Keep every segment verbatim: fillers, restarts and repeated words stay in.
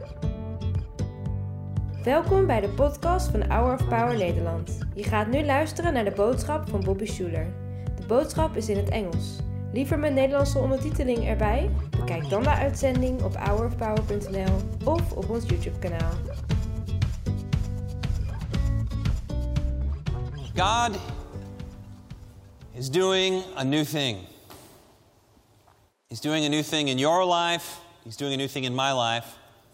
Welkom bij de podcast van Hour of Power Nederland. Je gaat nu luisteren naar de boodschap van Bobby Schuler. De boodschap is in het Engels. Liever met Nederlandse ondertiteling erbij? Bekijk dan de uitzending op hour of power punt n l of op ons YouTube-kanaal. God is doing a new thing. He's doing a new thing in your life. He's doing a new thing in my life.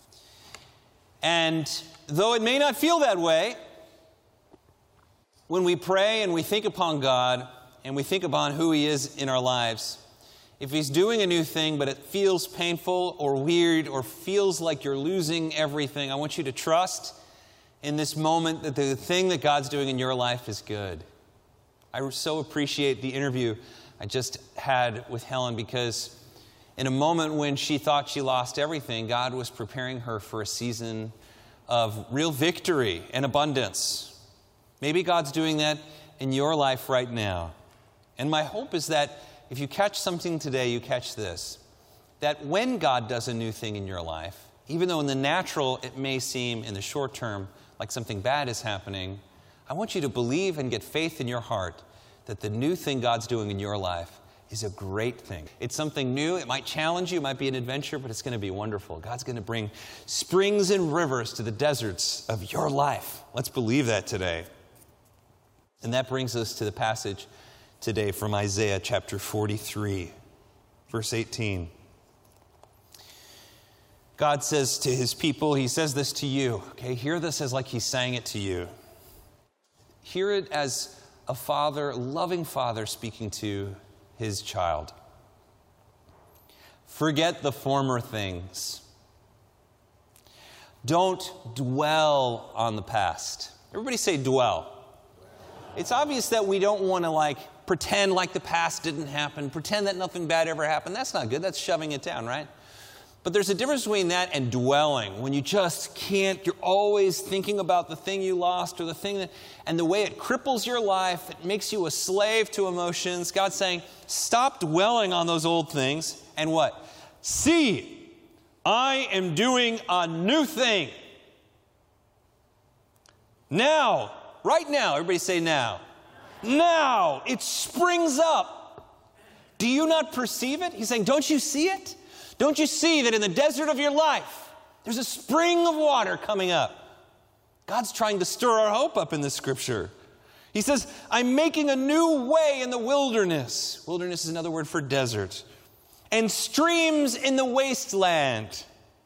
And though it may not feel that way, when we pray and we think upon God and we think upon who He is in our lives, if He's doing a new thing but it feels painful or weird or feels like you're losing everything, I want you to trust in this moment that the thing that God's doing in your life is good. I so appreciate the interview I just had with Helen, because in a moment when she thought she lost everything, God was preparing her for a season of real victory and abundance. Maybe God's doing that in your life right now. And my hope is that if you catch something today, you catch this. That when God does a new thing in your life, even though in the natural it may seem in the short term like something bad is happening, I want you to believe and get faith in your heart that the new thing God's doing in your life is a great thing. It's something new. It might challenge you. It might be an adventure, but it's going to be wonderful. God's going to bring springs and rivers to the deserts of your life. Let's believe that today. And that brings us to the passage today from Isaiah chapter forty-three, verse eighteen. God says to His people, He says this to you. Okay, hear this as like He's saying it to you. Hear it as a father, a loving father speaking to his child. Forget the former things. Don't dwell on the past. Everybody say dwell. It's obvious that we don't want to like pretend like the past didn't happen, pretend that nothing bad ever happened. That's not good. That's shoving it down, right? But there's a difference between that and dwelling, when you just can't, you're always thinking about the thing you lost or the thing that, and the way it cripples your life, it makes you a slave to emotions. God's saying, stop dwelling on those old things and what? See, I am doing a new thing. Now, right now, everybody say now. Now, it springs up. Do you not perceive it? He's saying, don't you see it? Don't you see that in the desert of your life, there's a spring of water coming up? God's trying to stir our hope up in this scripture. He says, I'm making a new way in the wilderness. Wilderness is another word for desert. And streams in the wasteland.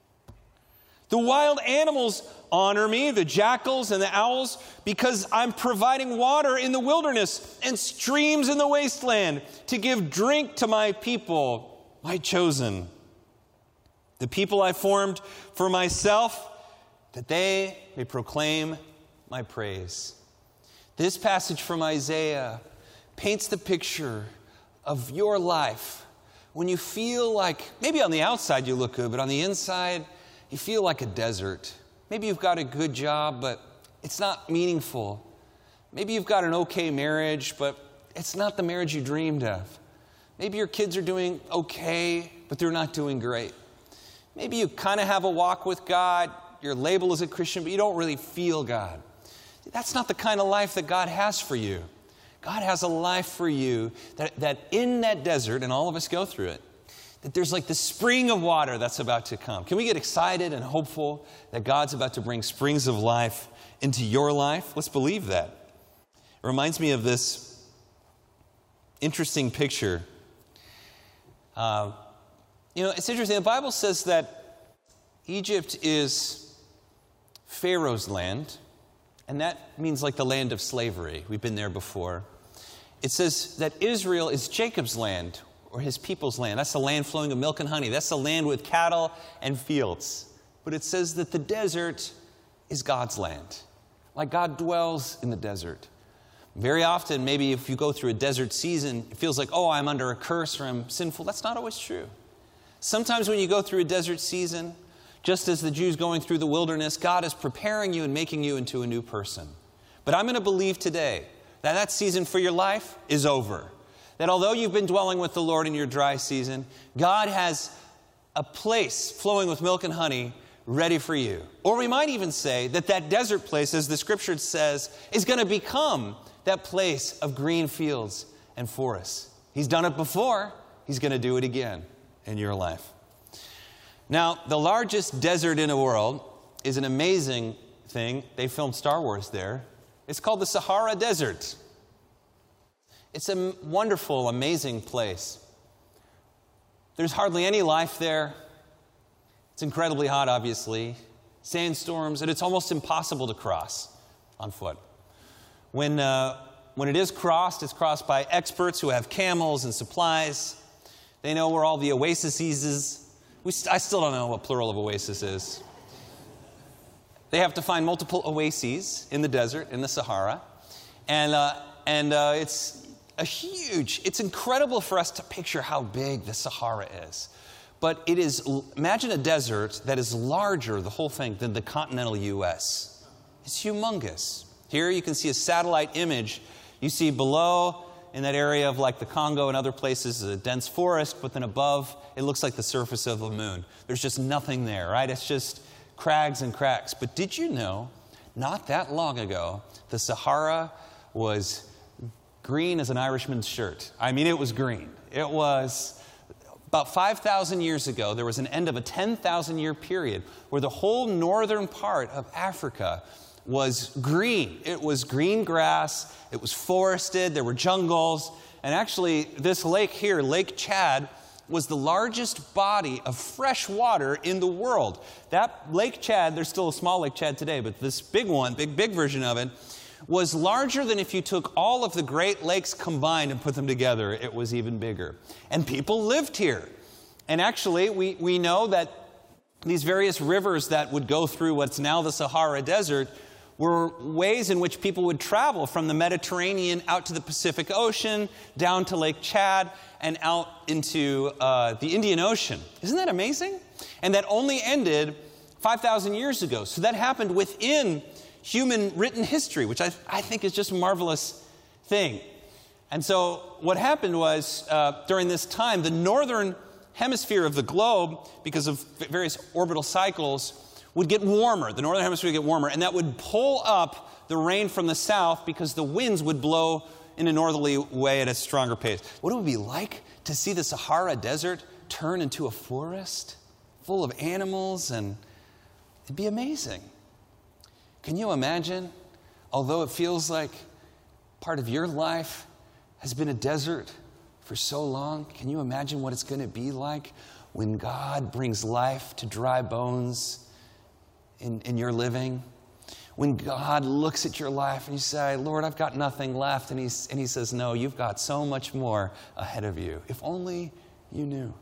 The wild animals honor me, the jackals and the owls, because I'm providing water in the wilderness and streams in the wasteland to give drink to my people, my chosen. The people I formed for myself, that they may proclaim my praise. This passage from Isaiah paints the picture of your life when you feel like, maybe on the outside you look good, but on the inside you feel like a desert. Maybe you've got a good job, but it's not meaningful. Maybe you've got an okay marriage, but it's not the marriage you dreamed of. Maybe your kids are doing okay, but they're not doing great. Maybe you kind of have a walk with God, your label is a Christian, but you don't really feel God. That's not the kind of life that God has for you. God has a life for you that, that in that desert, and all of us go through it, that there's like the spring of water that's about to come. Can we get excited and hopeful that God's about to bring springs of life into your life? Let's believe that. It reminds me of this interesting picture. Uh, You know, it's interesting. The Bible says that Egypt is Pharaoh's land, and that means like the land of slavery. We've been there before. It says that Israel is Jacob's land, or his people's land. That's the land flowing with milk and honey. That's the land with cattle and fields. But it says that the desert is God's land. Like God dwells in the desert. Very often, maybe if you go through a desert season, it feels like, oh, I'm under a curse or I'm sinful. That's not always true. Sometimes when you go through a desert season, just as the Jews going through the wilderness, God is preparing you and making you into a new person. But I'm going to believe today that that season for your life is over. That although you've been dwelling with the Lord in your dry season, God has a place flowing with milk and honey ready for you. Or we might even say that that desert place, as the scripture says, is going to become that place of green fields and forests. He's done it before. He's going to do it again in your life. Now, the largest desert in the world is an amazing thing. They filmed Star Wars there. It's called the Sahara Desert. It's a wonderful, amazing place. There's hardly any life there. It's incredibly hot, obviously. Sandstorms, and it's almost impossible to cross on foot. When, uh, when it is crossed, it's crossed by experts who have camels and supplies. They know where all the oases is. We st- I still don't know what plural of oasis is. They have to find multiple oases in the desert, in the Sahara. And, uh, and uh, it's a huge, it's incredible for us to picture how big the Sahara is. But it is, imagine a desert that is larger, the whole thing, than the continental U S. It's humongous. Here you can see a satellite image. You see below, in that area of like the Congo and other places, a dense forest, but then above, it looks like the surface of the moon. There's just nothing there, right? It's just crags and cracks. But did you know, not that long ago, the Sahara was green as an Irishman's shirt. I mean, it was green. It was about five thousand years ago, there was an end of a ten thousand year period where the whole northern part of Africa was green. It was green grass, it was forested, there were jungles, and actually this lake here, Lake Chad, was the largest body of fresh water in the world. That Lake Chad, there's still a small Lake Chad today, but this big one, big, big version of it, was larger than if you took all of the Great Lakes combined and put them together. It was even bigger. And people lived here. And actually, we, we know that these various rivers that would go through what's now the Sahara Desert were ways in which people would travel from the Mediterranean out to the Pacific Ocean, down to Lake Chad, and out into uh, the Indian Ocean. Isn't that amazing? And that only ended five thousand years ago. So that happened within human written history, which I, I think is just a marvelous thing. And so what happened was, uh, during this time, the northern hemisphere of the globe, because of various orbital cycles, would get warmer. The northern hemisphere would get warmer, and that would pull up the rain from the south because the winds would blow in a northerly way at a stronger pace. What it would be like to see the Sahara Desert turn into a forest full of animals, and it'd be amazing. Can you imagine, although it feels like part of your life has been a desert for so long, can you imagine what it's going to be like when God brings life to dry bones in, in your living? When God looks at your life and you say, Lord, I've got nothing left. And, he's, and he says, no, you've got so much more ahead of you. If only you knew.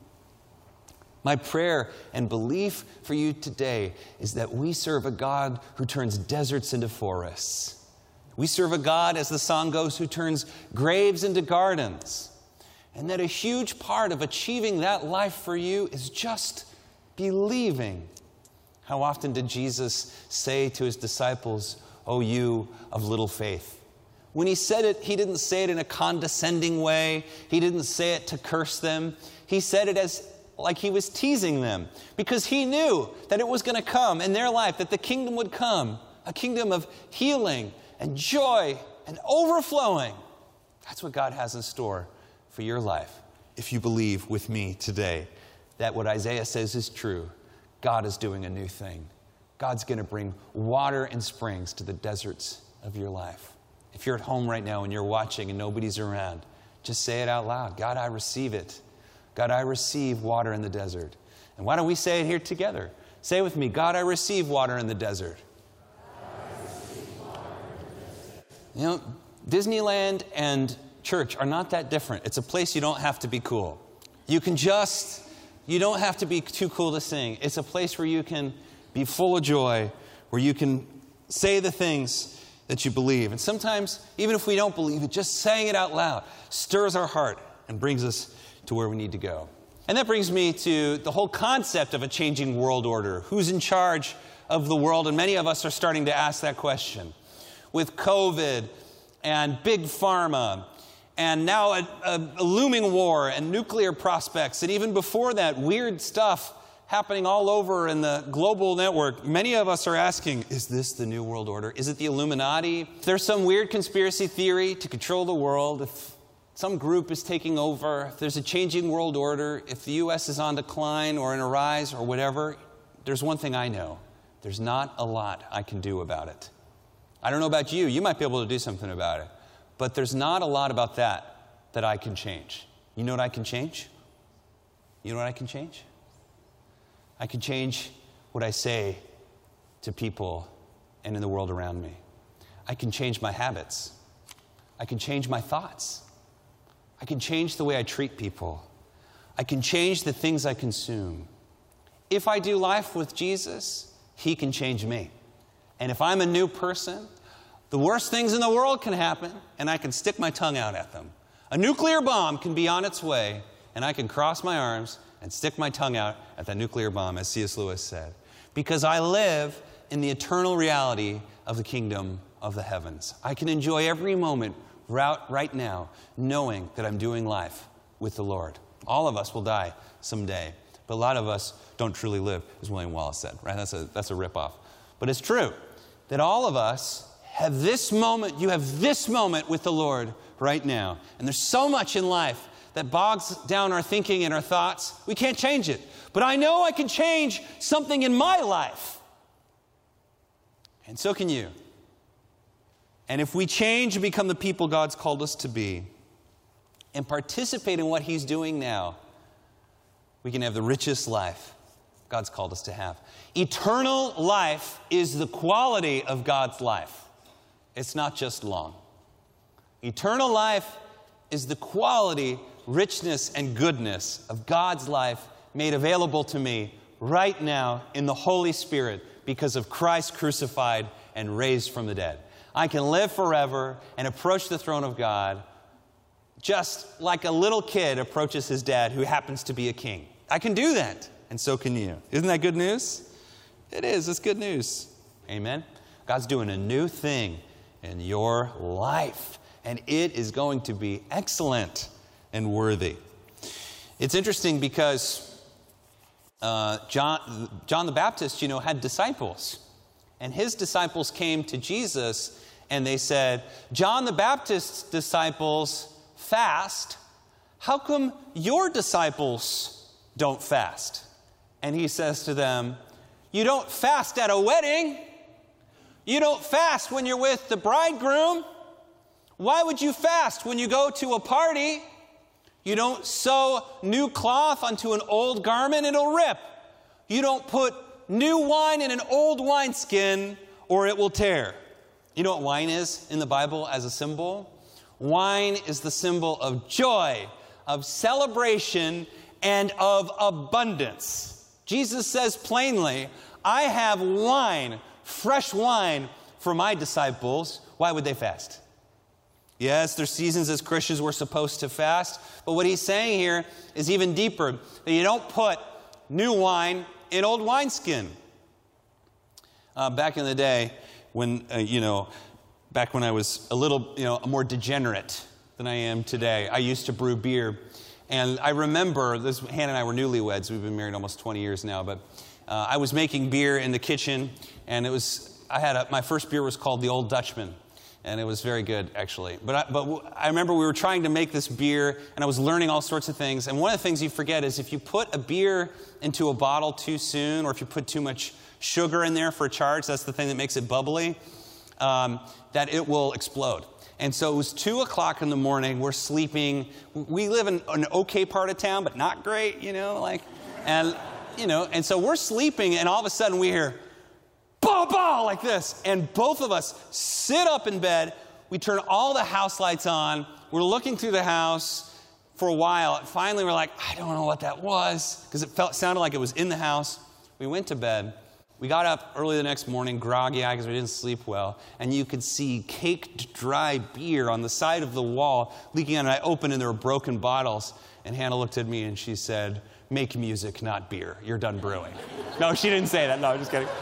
My prayer and belief for you today is that we serve a God who turns deserts into forests. We serve a God, as the song goes, who turns graves into gardens. And that a huge part of achieving that life for you is just believing. How often did Jesus say to his disciples, "O you of little faith"? When he said it, he didn't say it in a condescending way. He didn't say it to curse them. He said it as like he was teasing them, because he knew that it was going to come in their life, that the kingdom would come, a kingdom of healing and joy and overflowing. That's what God has in store for your life, if you believe with me today that what Isaiah says is true. God is doing a new thing. God's going to bring water and springs to the deserts of your life. If you're at home right now and you're watching and nobody's around, just say it out loud. God, I receive it. God, I receive water in the desert. And why don't we say it here together? Say it with me. God, I receive water in the desert. You know, Disneyland and church are not that different. It's a place you don't have to be cool. You can just, you don't have to be too cool to sing. It's a place where you can be full of joy, where you can say the things that you believe. And sometimes, even if we don't believe it, just saying it out loud stirs our heart and brings us to where we need to go. And that brings me to the whole concept of a changing world order. Who's in charge of the world? And many of us are starting to ask that question. With COVID and big pharma, and now a, a, a looming war and nuclear prospects, and even before that, weird stuff happening all over in the global network, many of us are asking, is this the New World Order? Is it the Illuminati? If there's some weird conspiracy theory to control the world, if some group is taking over, if there's a changing world order, if the U S is on decline or in a rise or whatever, there's one thing I know. There's not a lot I can do about it. I don't know about you. You might be able to do something about it. But there's not a lot about that that I can change. You know what I can change? You know what I can change? I can change what I say to people and in the world around me. I can change my habits. I can change my thoughts. I can change the way I treat people. I can change the things I consume. If I do life with Jesus, he can change me. And if I'm a new person, the worst things in the world can happen, and I can stick my tongue out at them. A nuclear bomb can be on its way, and I can cross my arms and stick my tongue out at that nuclear bomb, as C S Lewis said. Because I live in the eternal reality of the kingdom of the heavens. I can enjoy every moment right now, knowing that I'm doing life with the Lord. All of us will die someday, but a lot of us don't truly live, as William Wallace said, right? That's a, that's a ripoff. But it's true that all of us have this moment, you have this moment with the Lord right now. And there's so much in life that bogs down our thinking and our thoughts. We can't change it. But I know I can change something in my life. And so can you. And if we change and become the people God's called us to be, and participate in what he's doing now, we can have the richest life God's called us to have. Eternal life is the quality of God's life. It's not just long. Eternal life is the quality, richness, and goodness of God's life made available to me right now in the Holy Spirit because of Christ crucified and raised from the dead. I can live forever and approach the throne of God just like a little kid approaches his dad who happens to be a king. I can do that, and so can you. Isn't that good news? It is. It's good news. Amen? God's doing a new thing in your life, and it is going to be excellent and worthy. It's interesting because uh, John, John the Baptist, you know, had disciples, and his disciples came to Jesus, and they said, John the Baptist's disciples fast. How come your disciples don't fast? And he says to them, you don't fast at a wedding. You don't fast when you're with the bridegroom. Why would you fast when you go to a party? You don't sew new cloth onto an old garment, it'll rip. You don't put new wine in an old wineskin or it will tear. You know what wine is in the Bible as a symbol? Wine is the symbol of joy, of celebration, and of abundance. Jesus says plainly, I have wine, fresh wine for my disciples. Why would they fast? Yes, there's seasons as Christians we're supposed to fast, but what he's saying here is even deeper, that you don't put new wine in old wineskin. Uh, back in the day, when, uh, you know, back when I was a little, you know, more degenerate than I am today, I used to brew beer. And I remember, this, Hannah and I were newlyweds. We've been married almost twenty years now. But uh, I was making beer in the kitchen, and it was, I had a, my first beer was called the Old Dutchman. And it was very good, actually. But I, but I remember we were trying to make this beer, and I was learning all sorts of things. And one of the things you forget is if you put a beer into a bottle too soon, or if you put too much sugar in there for a charge, that's the thing that makes it bubbly, um, that it will explode. And so it was two o'clock in the morning. We're sleeping. We live in an okay part of town, but not great, you know, like, and, you know, and so we're sleeping, and all of a sudden we hear, bah, bah, like this. And both of us sit up in bed. We turn all the house lights on. We're looking through the house for a while. And finally, we're like, I don't know what that was, because it felt sounded like it was in the house. We went to bed. We got up early the next morning, groggy-eyed because we didn't sleep well, and you could see caked dry beer on the side of the wall leaking out, and I opened, and there were broken bottles. And Hannah looked at me, and she said, make music, not beer. You're done brewing. No, she didn't say that. No, I'm just kidding.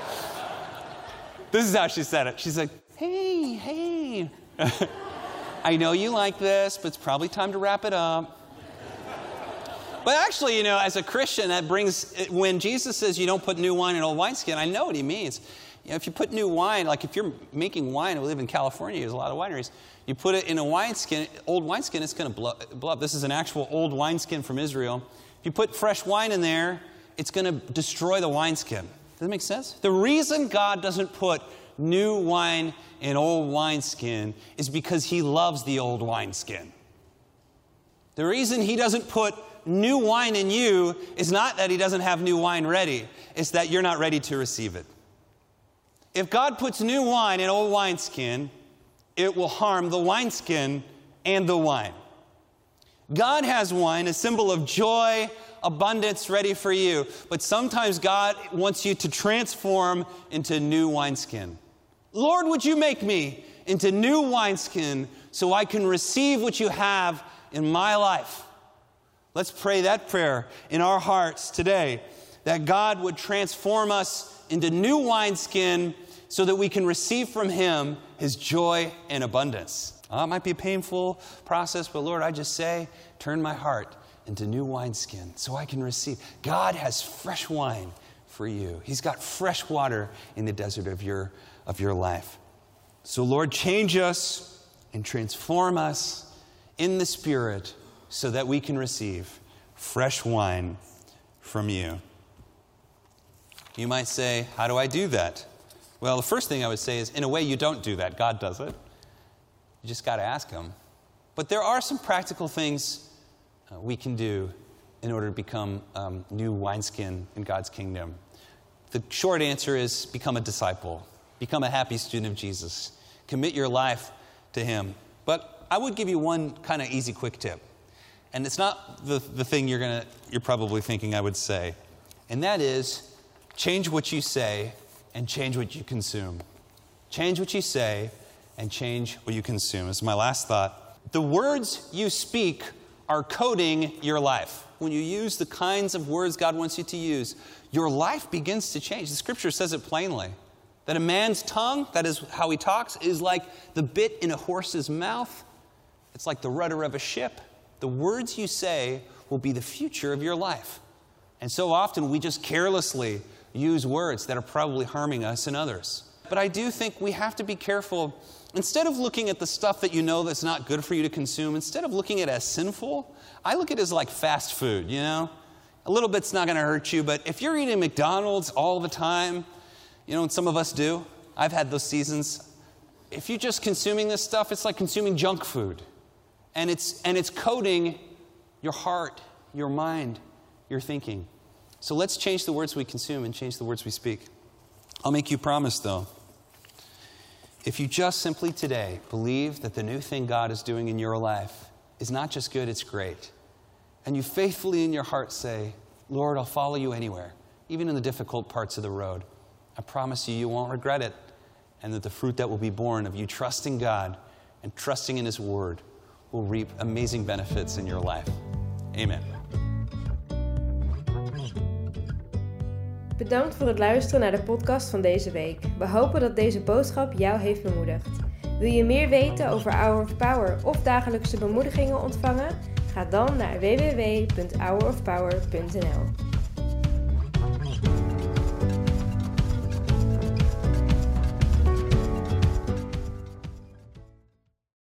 This is how she said it. She's like, hey, hey. I know you like this, but it's probably time to wrap it up. But actually, you know, as a Christian, that brings, when Jesus says you don't put new wine in old wineskin, I know what he means. You know, if you put new wine, like if you're making wine, we live in California, there's a lot of wineries, you put it in a wineskin, old wineskin, it's going to blow, blow up. This is an actual old wineskin from Israel. If you put fresh wine in there, it's going to destroy the wineskin. Does that make sense? The reason God doesn't put new wine in old wineskin is because he loves the old wineskin. The reason he doesn't put new wine in you is not that he doesn't have new wine ready. It's that you're not ready to receive it. If God puts new wine in old wineskin, it will harm the wineskin and the wine. God has wine, a symbol of joy, abundance ready for you. But sometimes God wants you to transform into new wineskin. Lord, would you make me into new wineskin so I can receive what you have in my life? Let's pray that prayer in our hearts today, that God would transform us into new wineskin so that we can receive from him his joy and abundance. Oh, it might be a painful process, but Lord, I just say, turn my heart into new wineskin so I can receive. God has fresh wine for you. He's got fresh water in the desert of your, of your life. So Lord, change us and transform us in the Spirit so that we can receive fresh wine from you. You might say, how do I do that? Well, the first thing I would say is, in a way, you don't do that. God does it. You just got to ask him. But there are some practical things uh, we can do in order to become um, new wineskin in God's kingdom. The short answer is become a disciple. Become a happy student of Jesus. Commit your life to him. But I would give you one kind of easy, quick tip. And it's not the, the thing you're gonna, you're probably thinking I would say. And that is, change what you say and change what you consume. Change what you say and change what you consume. This is my last thought. The words you speak are coding your life. When you use the kinds of words God wants you to use, your life begins to change. The scripture says it plainly. That a man's tongue, that is how he talks, is like the bit in a horse's mouth. It's like the rudder of a ship. The words you say will be the future of your life. And so often we just carelessly use words that are probably harming us and others. But I do think we have to be careful. Instead of looking at the stuff that you know that's not good for you to consume, instead of looking at it as sinful, I look at it as like fast food, you know? A little bit's not going to hurt you, but if you're eating McDonald's all the time, you know, and some of us do, I've had those seasons. If you're just consuming this stuff, it's like consuming junk food. And it's, and it's coating your heart, your mind, your thinking. So let's change the words we consume and change the words we speak. I'll make you a promise, though. If you just simply today believe that the new thing God is doing in your life is not just good, it's great, and you faithfully in your heart say, Lord, I'll follow you anywhere, even in the difficult parts of the road, I promise you, you won't regret it, and that the fruit that will be born of you trusting God and trusting in his word will reap amazing benefits in your life. Amen. Bedankt voor het luisteren naar de podcast van deze week. We hopen dat deze boodschap jou heeft bemoedigd. Wil je meer weten over Hour of Power of dagelijkse bemoedigingen ontvangen? Ga dan naar w w w punt hour of power punt n l.